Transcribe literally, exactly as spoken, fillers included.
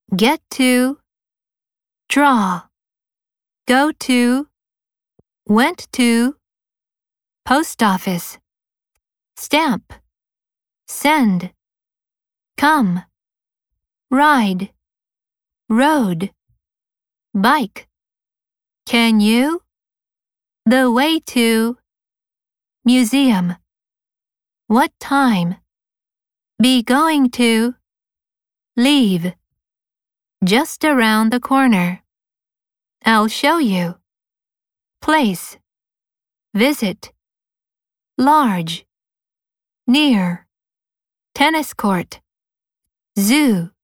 get to, draw, go to, went to, post office, stamp, send, come, ride, road, bike, can you, the way to, museum, what time, be going to, leave, just around the corner, I'll show you, place, visit, large, near, tennis court, zoo.